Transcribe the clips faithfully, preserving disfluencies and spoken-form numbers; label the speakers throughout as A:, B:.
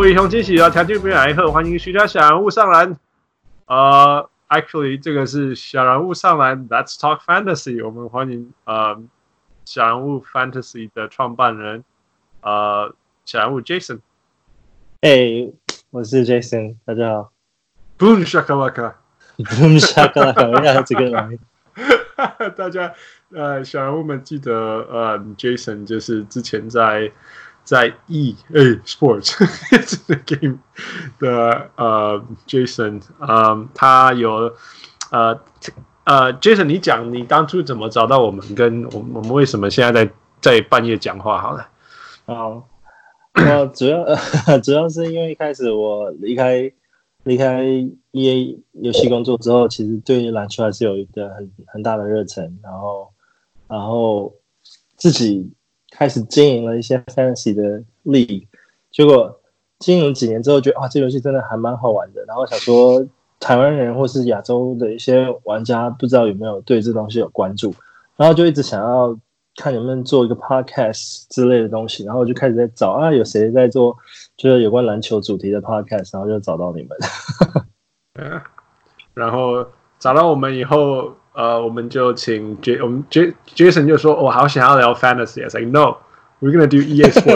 A: 位英雄驚喜啊，條件不來賀，歡迎徐家小人物上籃。呃、uh, ，actually 這個是小人物上籃 ，Let's Talk Fantasy。我們歡迎呃小人物 Fantasy 的創辦人，呃小人物 Jason。
B: 哎，我是 Jason， 大家好。
A: Boom shakalaka。Boom
B: shakalaka， 我要這個來。
A: 大家呃小人物們記得呃 Jason 就是之前在。在 E A Sports 這個 game 的呃 Jason， 嗯，他有呃呃 Jason， 你講你當初怎麼找到我們，跟我們我們為什麼現在在在半夜講話？好了，
B: 好，我主要、呃、主要是因為一開始我離開離開 E A 遊戲工作之後，其實對籃球還是有一個很很大的熱忱，然後然後自己。開始經營了一些 fantasy 的 league， 結果經營幾年之後，覺得啊，這遊戲真的還蠻好玩的。然後想說，台灣人或是亞洲的一些玩家，不知道有沒有對這東西有關注，然後就一直想要看能不能做一個 podcast 之類的東西，然後就開始在找啊，有誰在做就是有關籃球主題的 podcast， 然後就找到你們。
A: 嗯，然後找到我們以後。呃，我們就請 J， 我們 J Jason 就說，我、哦、好想要聊 Fantasy，I was like no, we're gonna do E A Sports 。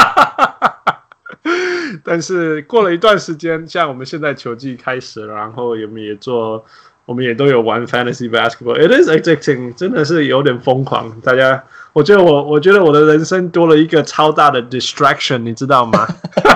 A: 但是過了一段時間，像我們現在球季開始了，然後我們也做，我們也都有玩 Fantasy Basketball，It is addicting， 真的是有點瘋狂。大家，我覺得我，我覺得我的人生多了一個超大的 distraction， 你知道嗎？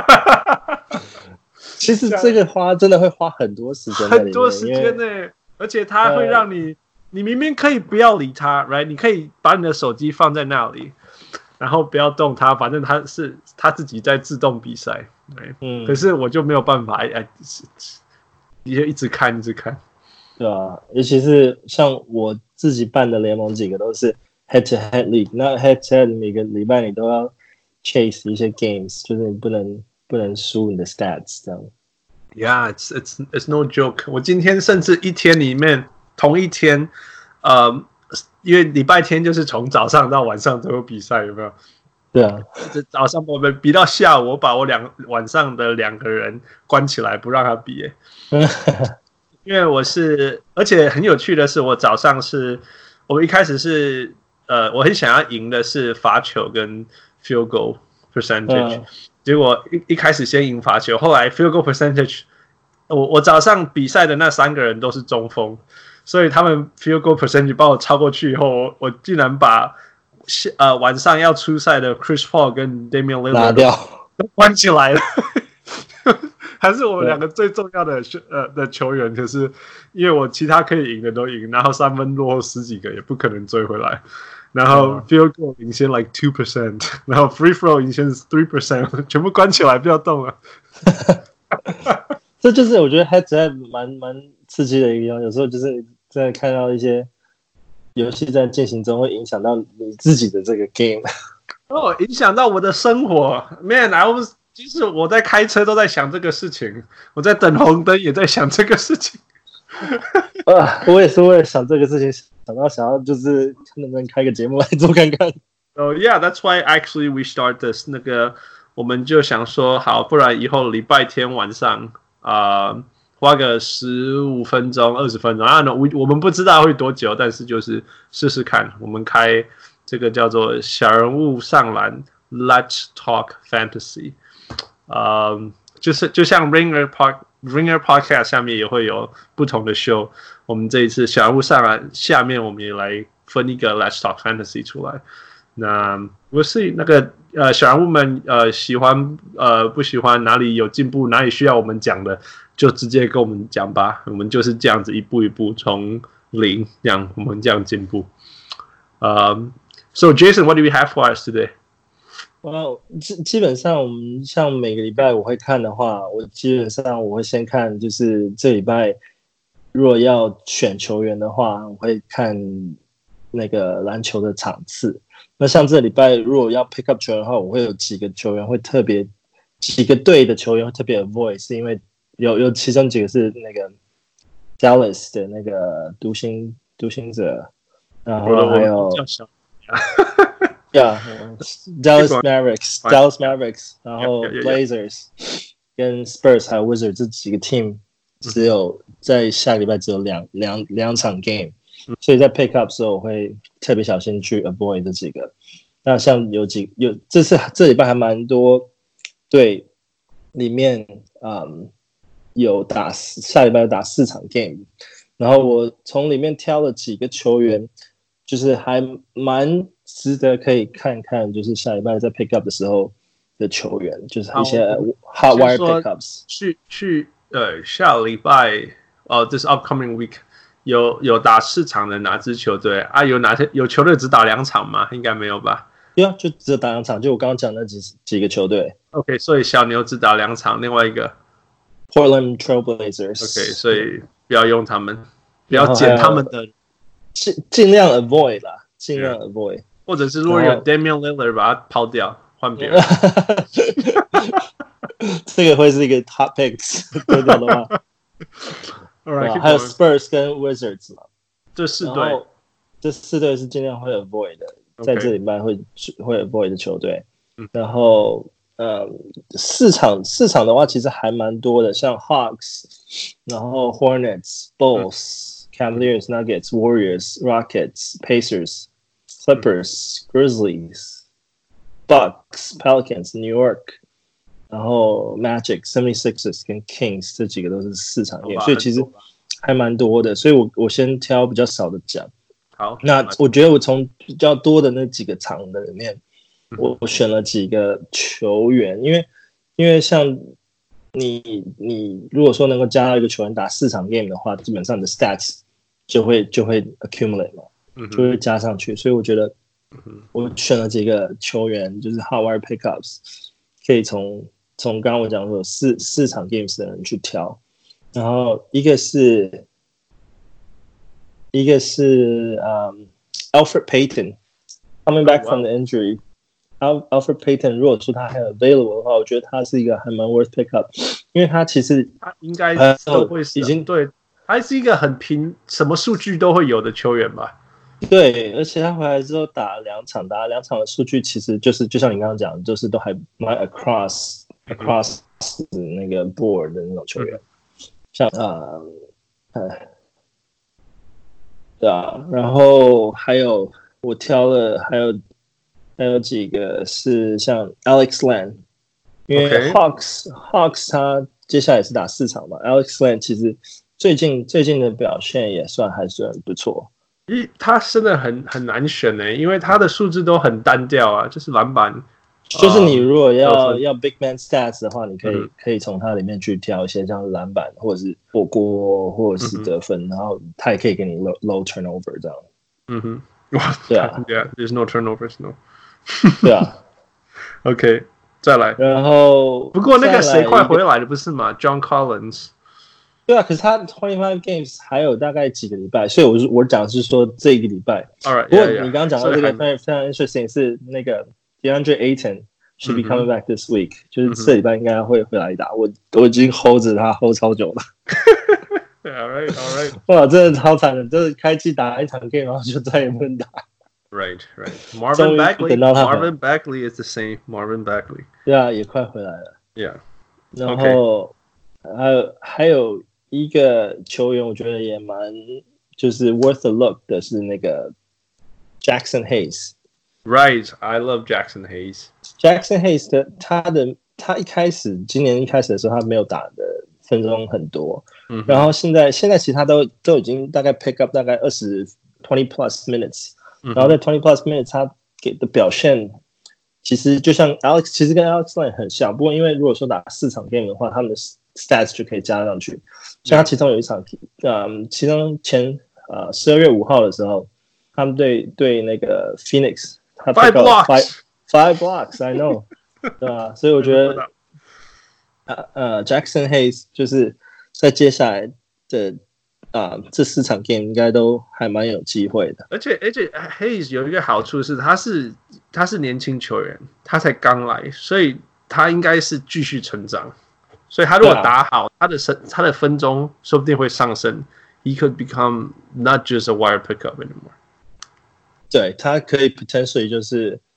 B: 其實這個花真的會花很多時間，
A: 很多時間呢、欸。而且它會讓你、呃，你明明可以不要理它 ，right？ 你可以把你的手機放在那裡，然後不要動它，反正它是它自己在自動比賽，對，嗯。可是我就沒有辦法，哎，你就一直看，一直看。
B: 對啊，尤其是像我自己辦的聯盟，幾個都是 head to head league， 那 head to head 每個禮拜你都要 chase 一些 games， 就是你不能不能輸你的 stats 這樣。
A: Yeah, it's it's it's no joke. 我今天甚至一天裡面同一天，呃，因為禮拜天就是從早上到晚上都有比賽，有沒有？
B: 對啊，
A: 早上我們比到下午，我把我兩晚上的兩個人關起來，不讓他比。因為我是，而且很有趣的是，我早上是，我一開始是，呃，我很想要贏的是罰球跟 field goal percentage。嗯，結果一一開始先贏罰球，後來 field goal percentage， 我我早上比賽的那三個人都是中鋒，所以他們 field goal percentage 把我超過去以後，我我竟然把呃晚上要出賽的 Chris Paul 跟 Damian Lillard
B: 拿掉，
A: 都關起來了，還是我們兩個最重要的呃的球員，可是因為我其他可以贏的都贏，然後三分落後十幾個也不可能追回來。然後 field goal 領先 like two percent， 然後 free throw 領先 three percent， 全部關起來，不要動了。
B: 這就是我覺得 head to head 蠻蠻刺激的一個地方。有時候就是在看到一些遊戲在進行中，會影響到你自己的這個 game。
A: 哦，影響到我的生活 ，man，I was， 其實我在開車都在想這個事情，我在等紅燈也在想這個事情。
B: 啊，我也是為了想這個事情，想到想要就是看能不能開個節目來做看看。
A: Oh yeah, that's why actually we start this。那個我們就想說，好，不然以後禮拜天晚上啊、呃，花個十五分鐘、二十分鐘啊，我我們不知道會多久，但是就是試試看。我們開這個叫做小人物上籃 ，Let's Talk Fantasy。呃，就是就像 Ringer Park。Ringer Podcast 下面也會有不同的 show， 我們這一次小人物上來，下面我們也來分一個 Let's Talk Fantasy 出來。那我是那個呃小人物們呃喜歡呃不喜歡，哪裡有進步，哪裡需要我們講的，就直接跟我們講吧。我們就是這樣子一步一步從零這樣，我們這樣進步。呃、um, So Jason, what do we have for us today?
B: 哇，基基本上我們像每個禮拜我會看的話，我基本上我會先看，就是這禮拜如果要選球員的話，我會看那個籃球的場次。那像這禮拜如果要 pick up 球員的話，我會有幾個球員會特別，幾個隊的球員會特別 avoid， 是因為有有其中幾個是那個 Dallas 的那個獨行獨行者，然後還有。 Yeah，Dallas Mavericks，Dallas Mavericks， 然後 Blazers 跟 Spurs 還有 Wizards 這幾個 team 只有在下禮拜只有兩兩兩場 game， 所以在 pick up 的時候我會特別小心去 avoid 這幾個。那像有幾有這次這禮拜還蠻多對裡面嗯有打下禮拜有打四場 game， 然後我從裡面挑了幾個球員，就是還蠻值得可以看看，就是下禮拜在 pick up 的時候的球員，就是一些 hot wire pickups。
A: 去去呃下禮拜哦，這是 upcoming week 有有打四場的哪支球隊啊？有哪些有球隊只打兩場嗎？應該沒有吧？
B: 對啊，就只有打兩場，就我剛剛講的那幾幾個球隊。
A: OK， 所以小牛只打兩場，另外一個
B: Portland Trailblazers。
A: OK， 所以不要用他們，不要撿他們的，
B: 盡盡量 avoid 啦，盡量 avoid。
A: 或者是如果有 Damian Lillard 把它拋掉，換別人。
B: 這個會是一個 hot picks 丟掉的話。
A: Right,
B: 還有 Spurs 跟 Wizards 嘛，
A: 這四隊，
B: 這四隊是盡量會 avoid 的。
A: Okay.
B: 在這禮拜會會 avoid 的球隊，然後呃市場市場的話其實還蠻多的，像 Hawks， 然後 Hornets、Bulls、Cavaliers、Nuggets、Warriors、Rockets、Pacers、Clippers、Grizzlies、Bucks、Pelicans、New York， 然後 Magic、seventy-sixers 跟 Kings 這幾個都是市場 game， 所以其實還蠻多的，所以我我先挑比較少的講。
A: 好，
B: 那我覺得我從比較多的那幾個場的裡面，我我選了幾個球員，因為因為像你你如果說能夠加到一個球員打四場 game 的話，基本上你的 stats 就會就會 accumulate 嘛，就會加上去，所以我覺得我選了幾個球員，就是 hot wire pickups， 可以從從剛剛我講說有四四場 games 的人去挑，然後一個是。一個是、um, Alfred Payton coming back from the injury. Al Alfred Payton 如果說他還有 available 的話，我覺得他是一個還蠻 worth pick up， 因為他其實
A: 他應該都會是已經對，還是一個很平，什麼數據都會有的球員吧。
B: 對，而且他回來之後打兩場，打兩場的數據其實就是就像你剛剛講的，就是都還蠻 across across 那個 board 的那種球員，像啊，哎。對啊，然後還有我挑了，還有還有幾個是像 Alex Len， 因為 Hawks、okay. Hawks 他接下來是打四場嘛 ，Alex Len 其實最近最近的表現也算還算不錯。
A: 一他真的很很難選呢，因為他的數字都很單調啊，就是籃板。
B: 就是你如果要、uh, 要 big man stats 的話，你可以、嗯、可以從它裡面去挑一些像籃板或者是火鍋或者是得分，嗯、然後他也可以給你 low low turnover 這樣。嗯哼，哇，對啊
A: ，Yeah, there's no turnovers, no 。
B: 對啊
A: ，OK， 再來。
B: 然後
A: 不過那個誰快回來了不是嗎 ？John Collins。
B: 對啊，可是他twenty-five games 還有大概幾個禮拜，所以我是我講的是說這個禮拜。
A: All right,
B: 不過你剛剛講到這個非常非常 interesting 是那個。DeAndre Ayton should be coming back this week，、嗯、就是這禮拜應該會回來打。我我已經 hold 着他 hold 超久了。
A: all right, all right。
B: 哇，真的超慘的，就是開季打一場 game， 然後就再也不能打。
A: Right, right. Marvin Bagley, Marvin Bagley is the same. Marvin Bagley。對啊，
B: 也快回來了。
A: Yeah。
B: 然後、okay. 還有還有一個球員，我覺得也蠻就是 worth a look 的是那個 Jackson Hayes。Right,
A: I love Jackson Hayes.
B: Jackson Hayes 的他的他一開始今年一開始的時候，他沒有打的分鐘很多，嗯、然後現在現在其實他都都已經大概 pick up 大概二十 twenty plus minutes，、嗯、然後在 twenty plus minutes 他給的表現其實就像 Alex 其實跟 Alex Len 很像，不過因為如果說打四場 game 的話，他們的 stats 就可以加上去，像他其中有一場，嗯，其中前呃十二月五號的時候，他們對對那個 Phoenix。
A: Five blocks,
B: five, five blocks. I know， 對吧？所以我覺得，呃呃 ，Jackson Hayes 就是在接下來的啊、呃、這四場 game 應該都還蠻有機會的。
A: 而且而且 Hayes 有一個好處是，他是他是年輕球員，他才剛來，所以他應該是繼續成長。所以他如果打好，啊、他的身他的分鐘說不定會上升。He could become not just a wire pickup anymore。
B: 對，他可以 potentially 就是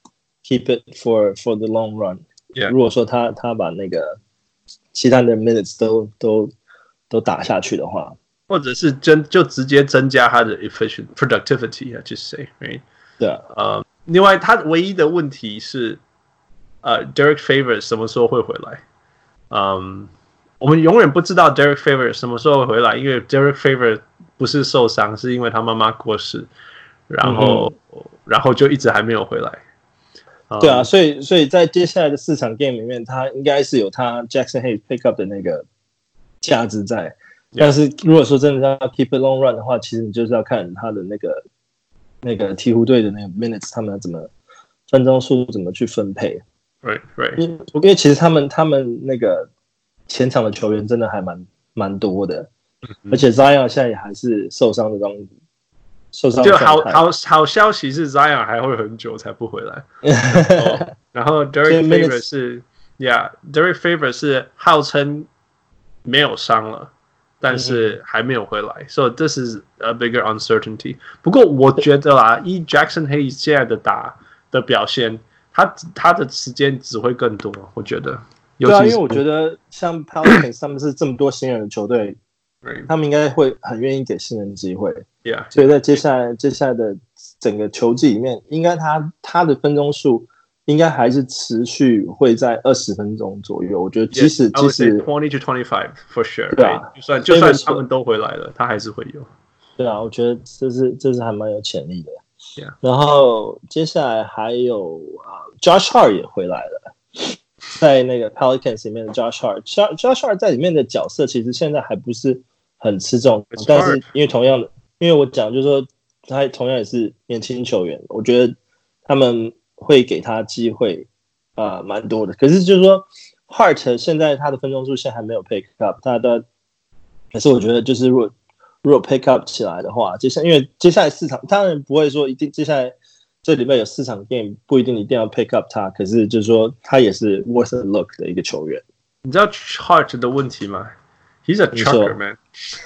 B: keep it for for the long run。Yeah. 如果說他他把那個其他的 minutes 都都都打下去的話，
A: 或者是真就直接增加他的 efficient productivity，I just say，right？
B: 对啊，
A: 呃，另外他唯一的問題是，呃 ，Derek Favors 什麼時候會回來？嗯，我們永遠不知道 Derek Favors 什麼時候會回來，因為 Derek Favors 不是受傷，是因為他媽媽過世，然後、嗯、然後就一直還沒有回來。
B: 對啊，所以所以在接下來的四場 game 裡面，他應該是有他 Jackson Hayes pick up 的那個價值在。Yeah. 但是如果說真的要 keep it long run 的話，其實你就是要看他的那個那個鹈鶘隊的那個 minutes， 他們要怎麼分鐘數怎麼去分配。
A: Right, right.
B: 因為其實他們他們那個前場的球員真的還蠻蠻多的，嗯、而且 Zion 現在也還是受傷的狀。受傷
A: 就好好好消息是 Zion 還會很久才不回來，然後, 然後 Derek Favors 是 ，Yeah Derek Favors 是號稱沒有傷了，但是還沒有回來、嗯、，So this is a bigger uncertainty。不過我覺得啦，以 Jackson Hayes 現在的打的表現，他他的時間只會更多，我覺得。
B: 對啊，因為我覺得像 Pelicans 他們是這麼多新人的球隊。他們應該會很願意給新人機會
A: ，Yeah.
B: 所以在接下來接下來的整個球季裡面，應該他他的分鐘數應該還是持續會在二十分鐘左右。我覺得即使
A: yes,
B: 即使
A: twenty to twenty-five for sure，
B: 對啊，
A: right? 就算就算他們都回來了，他還是會有。
B: 對啊，我覺得這是這是還蠻有潛力的。
A: Yeah.
B: 然後接下來還有啊 ，Josh Hart 也回來了。在那個 Pelicans 裡面的 Josh Hart，Josh Hart 在裡面的角色其實現在還不是很吃重，但是因為同樣的，因為我講就是說他同樣也是年輕球員，我覺得他們會給他機會啊，蠻、呃、多的。可是就是說 Hart 現在他的分鐘數現在還沒有 pick up， 他的，可是我覺得就是如果如果 pick up 起來的話，接下因為接下來四場當然不會說一定接下來。這禮拜有四場 game， 不一定一定要 pick up 他，可是就是說他也是 worth a look 的一個球員。
A: 你知道 Hart 的問題嗎 ？He's a chucker man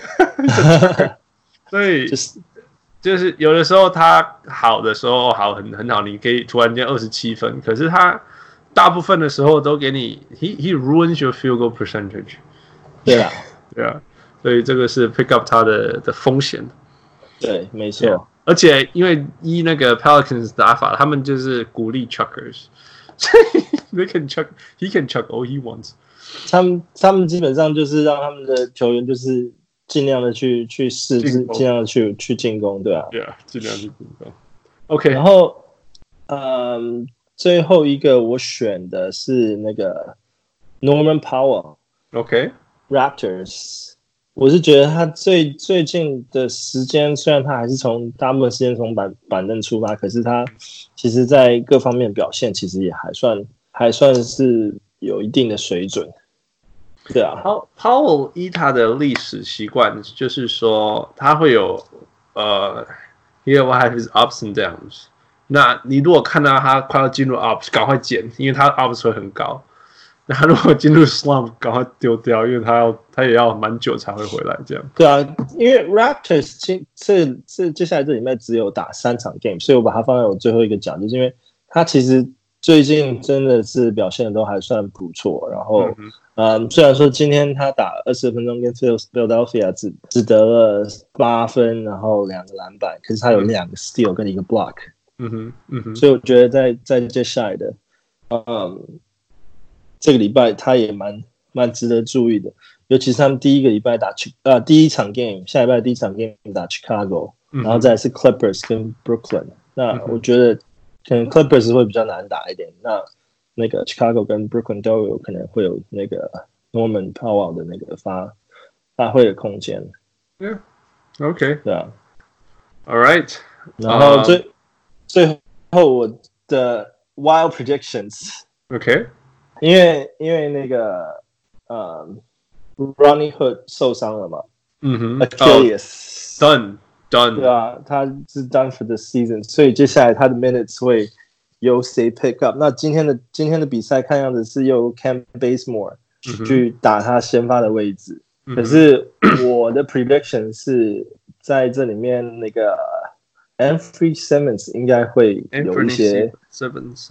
A: 。chucker 所以就是就是有的時候他好的時候好很很好，你可以突然間二十七分，可是他大部分的時候都給你 he he ruins your field goal percentage。
B: 對啊，
A: 對啊，所以這個是 pick up 他的的風險。
B: 對，沒錯。Yeah.
A: 而且因為依那個 Pelicans 打法，他們就是鼓勵 chuckers， they can chuck, he can chuck all he wants。
B: 他們他們基本上就是讓他們的球員就是盡量的去去試，盡量的去去進攻，對啊。
A: 對啊，盡量去進攻。OK，
B: 然後嗯，最後一個我選的是那個 Norman Powell。OK，Raptors。我是覺得他最最近的時間，雖然他還是從大部分時間從板板凳出發，可是他其實在各方面表現其實也還算還算是有一定的水準。對啊
A: ，Powell 依他的歷史習慣，就是說他會有呃 ，he will have his ups and downs。那你如果看到他快要進入 ups， 趕快減，因為他 ups 會很高。那他如果進入 slump， 趕快丟掉，因為他要他也要蠻久才會回來這樣。
B: 對啊，因為 Raptors 這這接下來這禮拜只有打三場 game， 所以我把它放在我最後一個講，就是因為他其實最近真的是表現的都還算不錯。然後，嗯，嗯，雖然說今天他打二十分鐘跟 Philadelphia 只只得了八分，然後兩個籃板，可是他有兩個 steal 跟一個 block。
A: 嗯哼，嗯哼，
B: 所以我覺得在在接下來的，嗯。這個禮拜他也蠻蠻值得注意的，尤其是他們第一個禮拜打呃第一場 game， 下禮拜第一場 game 打 Chicago，嗯，然後再來是 Clippers 跟 Brooklyn，嗯。那我覺得可能 Clippers 會比較難打一點，那那個 Chicago 跟 Brooklyn 都有可能會有那個 Norman Powell 的那個發發揮的空間。
A: Yeah, OK，
B: 對啊
A: ，All right，
B: 然後最、uh, 最後我的 Wild Predictions，OK。因為因為那個呃 Ronnie Hood 受傷了嘛，嗯哼 Achilles、
A: oh, done done， 對
B: 啊，他是 done for the season， 所以接下來他的 minutes 會由誰 pick up？ 那今天的今天的比賽看樣子是由 Cam Bazemore、嗯、去打他先發的位置，嗯、可是我的 prediction 是在這裡面那個 Anthony Simmons 應該會有一些
A: Simmons，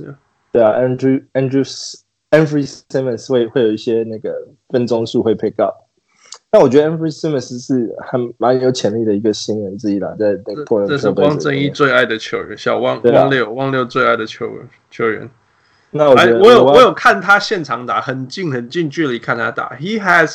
B: 對啊 ，Andrew Andrew Anfernee Simons 會會有一些那個分鐘數會 pick up。但我覺得 Anfernee Simons 是還蠻有潛力的一個新人之一啦，在那個
A: 這是汪正義最愛的球員，小汪、啊、汪六汪六最愛的球員球員。
B: 那我覺得
A: 我有我有看他現場打，很近很近距離看他打 ，He has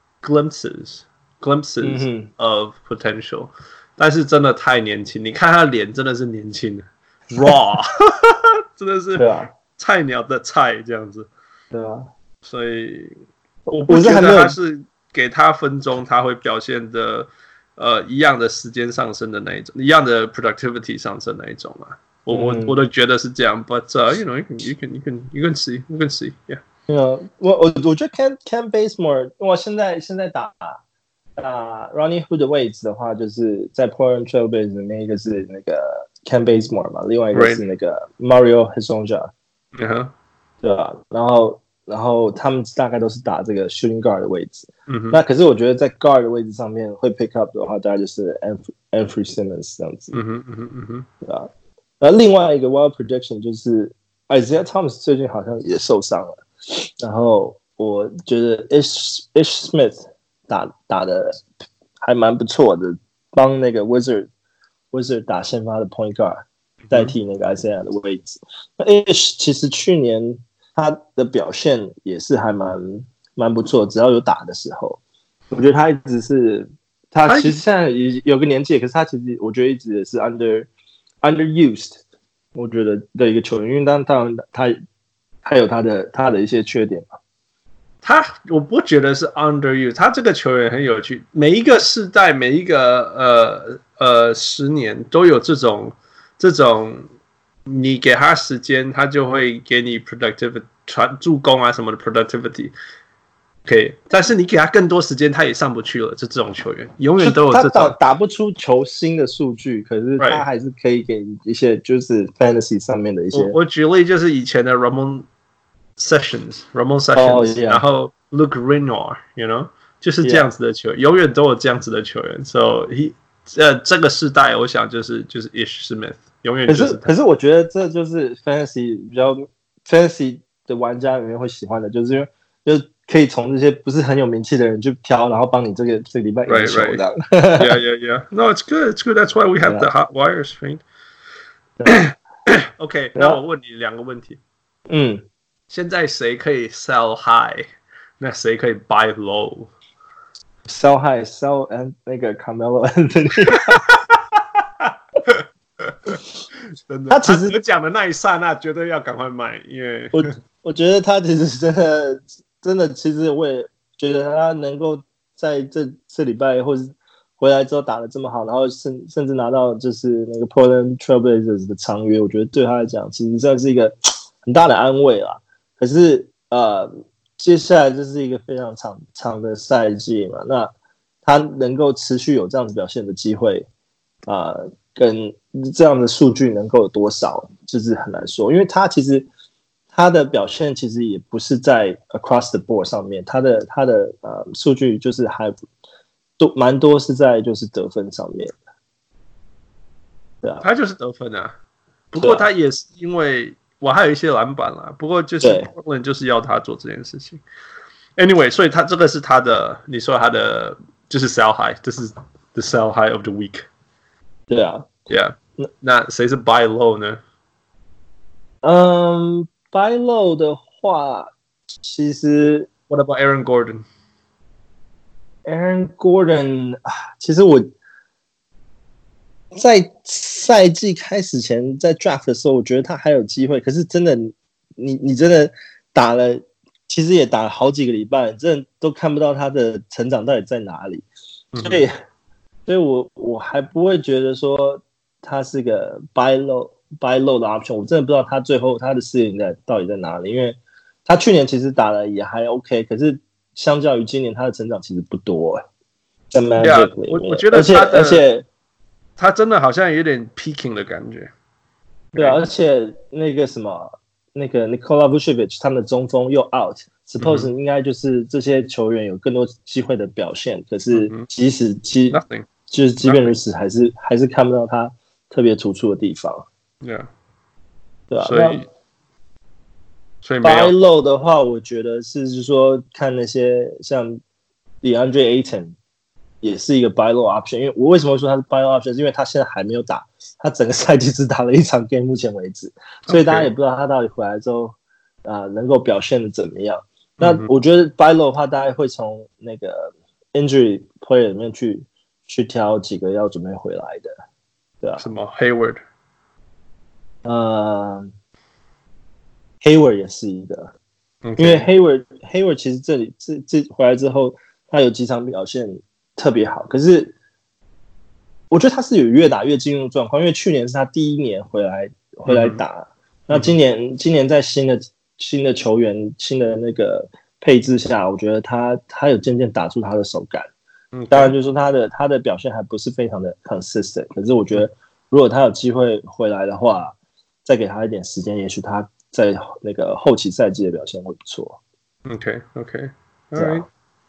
A: glimpses glimpses of potential，、嗯、但是真的太年輕，你看他臉真的是年輕的 ，raw， 真的是菜鳥的菜這樣子。
B: 對啊，
A: 所以我不覺得他是。給他分鐘，他會表現的呃一樣的時間上升的那一種，一樣的 productivity 上升那一種啊。我、嗯、我我都覺得是這樣 ，but、uh, you know you can you can you can you can see you can see yeah。
B: 我我我覺得 Cam Cam Bazemore， 我現在現在打打 Rodney Hood 的位置的話，就是在 Portland Trailblazers 裡面一個是那個 Cam Bazemore 嘛，另外一個是那個 Mario Hezonja，
A: 嗯哼，對
B: 吧？然後。然後他們大概都是打這個 shooting guard 的位置，
A: 嗯、
B: 那可是我覺得在 guard 的位置上面會 pick up 的話，大概就是 Anfernee Simons 這樣子，
A: 嗯哼嗯哼嗯哼，
B: 對吧？然後另外一個 wild prediction 就是 Isaiah Thomas 最近好像也受傷了，然後我覺得 Ish Ish Smith 打打的還蠻不錯的，幫那個 Wizard Wizard 打先發的 point guard， 代替那個 Isaiah 的位置。那 Ish 其實去年。他的表現也是還蠻蠻不錯，只要有打的時候，我覺得他一直是他其實現在也有個年紀，可是他其實我覺得一直也是 under underused， 我覺得的一個球員，因為當當然他他有他的他的一些缺點嘛。
A: 他我不覺得是 underused， 他這個球員很有趣，每一個世代每一個呃呃十年都有這種這種。你給他時間，他就會給你 productivity 傳助攻啊什麼的 productivity， 可以。但是你給他更多時間，他也上不去了。就這種球員，永遠都有這種。他 打, 打不出球星的數據，可是他還是可以給一些就是 fantasy 上面的一些。我, 我舉例就是以前的 Ramon Sessions，Ramon Sessions，、oh, yeah. 然後 Luke Renoir，you know， 就是這樣子的球員， yeah. 永遠都有這樣子的球員。So he， 呃，這個世代，我想就是就是 Ish Smith。永遠就是可是，可是
B: 我覺得這就是 fantasy 比較 fantasy 的玩家裡面會喜歡的，就是因為就是可以從這些不是很有名氣的人去挑，然後幫你這個這個禮拜贏球這樣。
A: Right, right. yeah, yeah, yeah. No, it's good. It's good. That's why we have the hot wires, friend. OK， 那我問你兩個問題。
B: 嗯，
A: 現在誰可以 sell high？ 那誰可以 buy low？Sell
B: high, sell and 那個 Carmelo Anthony。
A: 真的，他其實講的那一剎那，絕對要趕快賣，因為
B: 我我覺得他其實真的真的，其實我也覺得他能夠在這這禮拜或者回來之後打得這麼好，然後甚甚至拿到就是那個 Portland Trailblazers 的長約，我覺得對他來講其實算是一個很大的安慰啦。可是呃，接下來就是一個非常長長的賽季嘛，那他能夠持續有這樣子表現的機會啊。呃跟這樣的數據能夠有多少，就是很難說，因為他其實他的表現其實也不是在 across the board 上面，他的他的呃數據就是還多蠻多是在就是得分上面，對啊，
A: 他就是得分啊，不過他也是因為我還有一些籃板啦，不過就是 Portland 就是要他做這件事情 ，anyway， 所以他這個是他的，你說他的就是 sell high， 這是 the sell high of the week。
B: 對啊
A: ，Yeah， 那那誰是 buy low 呢？
B: 嗯 ，buy low 的話，其實
A: What about Aaron
B: Gordon？Aaron Gordon 啊，其實我在賽季開始前，在 draft 的時候，我覺得他還有機會。可是真的，你你真的打了，其實也打了好幾個禮拜，真的都看不到他的成長到底在哪裡，所以。嗯所以我我還不會覺得說他是個 buy low buy low 的 option， 我真的不知道他最後他的視野在到底在哪裡，因為他去年其實打的也還 OK， 可是相較於今年他的成長其實不多哎、欸。在 Magic 裡面，
A: 我我覺得他的
B: 而且而且
A: 他真的好像有點 peaking 的感覺。
B: 對啊，而且那個什麼那個 Nikola Vucevic 他們的中鋒又 out。Suppose、嗯、應該就是這些球員有更多機會的表現，可是即使即、
A: 嗯、
B: 就是即便如此，還是還是看不到他特別突出的地方。
A: Yeah，
B: 對吧、啊？
A: 所以所以沒有
B: buy low 的話，我覺得是是說看那些像 DeAndre Ayton 也是一個 buy low option， 因為我為什麼會說他是 buy low option， 是因為他現在還沒有打，他整個賽季只打了一場 game， 目前為止，所以大家也不知道他到底回來之後啊、呃、能夠表現的怎麼樣。那我覺得 buy low 的話，大家會從那個 injury player 裡面去去挑幾個要準備回來的，對啊。
A: 什麼 Hayward？
B: 呃 ，Hayward 也是一個，
A: Okay.
B: 因為 Hayward Hayward 其實這裡這這回來之後，他有幾場表現特別好，可是我覺得他是有越打越進入狀況，因為去年是他第一年回來回來打，嗯、那今年、嗯、今年在新的新的球員新的那個配置下，我覺得他他有漸漸打出他的手感。嗯，當然就是說他的他的表現還不是非常的 consistent， 可是我覺得如果他有機會回來的話，再給他一點時間，也許他在那個後期賽季的表現會不錯。
A: Okay, okay, all right.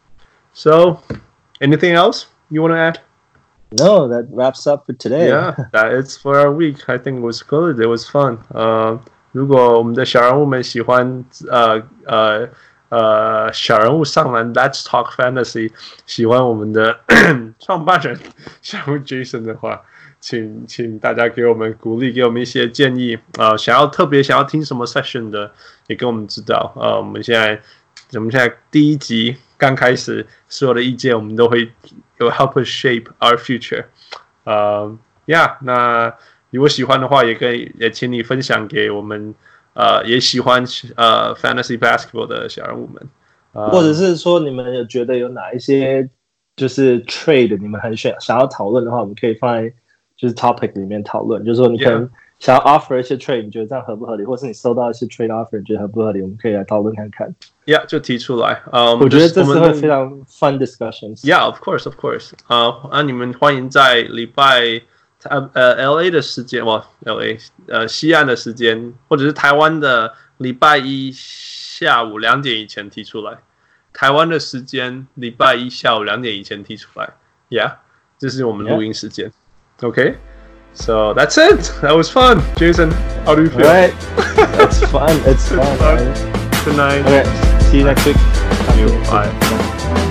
A: So, anything else you want to add?
B: No, that wraps up for today.
A: Yeah, that is for our week. I think it was good. It was fun. 呃，如果我們的小人物們喜歡呃呃呃小人物上籃 Let's Talk Fantasy， 喜歡我們的創辦人小人物 Jason 的話，請請大家給我們鼓勵，給我們一些建議。呃，想要特別想要聽什麼 session 的，也給我們知道。呃，我們現在我們現在第一集剛開始，所有的意見我們都會有 help us shape our future。呃 ，Yeah， 那如果喜歡的話，也可以也請你分享給我們呃也喜歡呃 fantasy basketball 的小人物們。呃、
B: 或者是說你們有覺得有哪一些就是 trade 你們很想想要討論的話，我們可以放在就是 topic 裡面討論，就是說你可能想要 offer 一些 trade， 你覺得這樣合不合理，或是你收到一些 trade offer， 你覺得合不合理，我們可以來討論看看。
A: Yeah， 就提出來。Um,
B: 我覺得這是會非常 fun discussions。
A: Yeah, of course, of course。啊，那你們歡迎在禮拜呃呃 L A 的時間，哇 ，L A 呃西岸的時間，或者是台灣的禮拜一下午兩點以前提出來。台灣的時間禮拜一下午兩點以前提出來。Yeah， 這是我們錄音時間。Yeah. Okay, so that's it. That was fun, Jason. How do you feel?
B: Right, it's fun. It's fun.
A: Good night.
B: Okay, see you next week.
A: See you. Bye.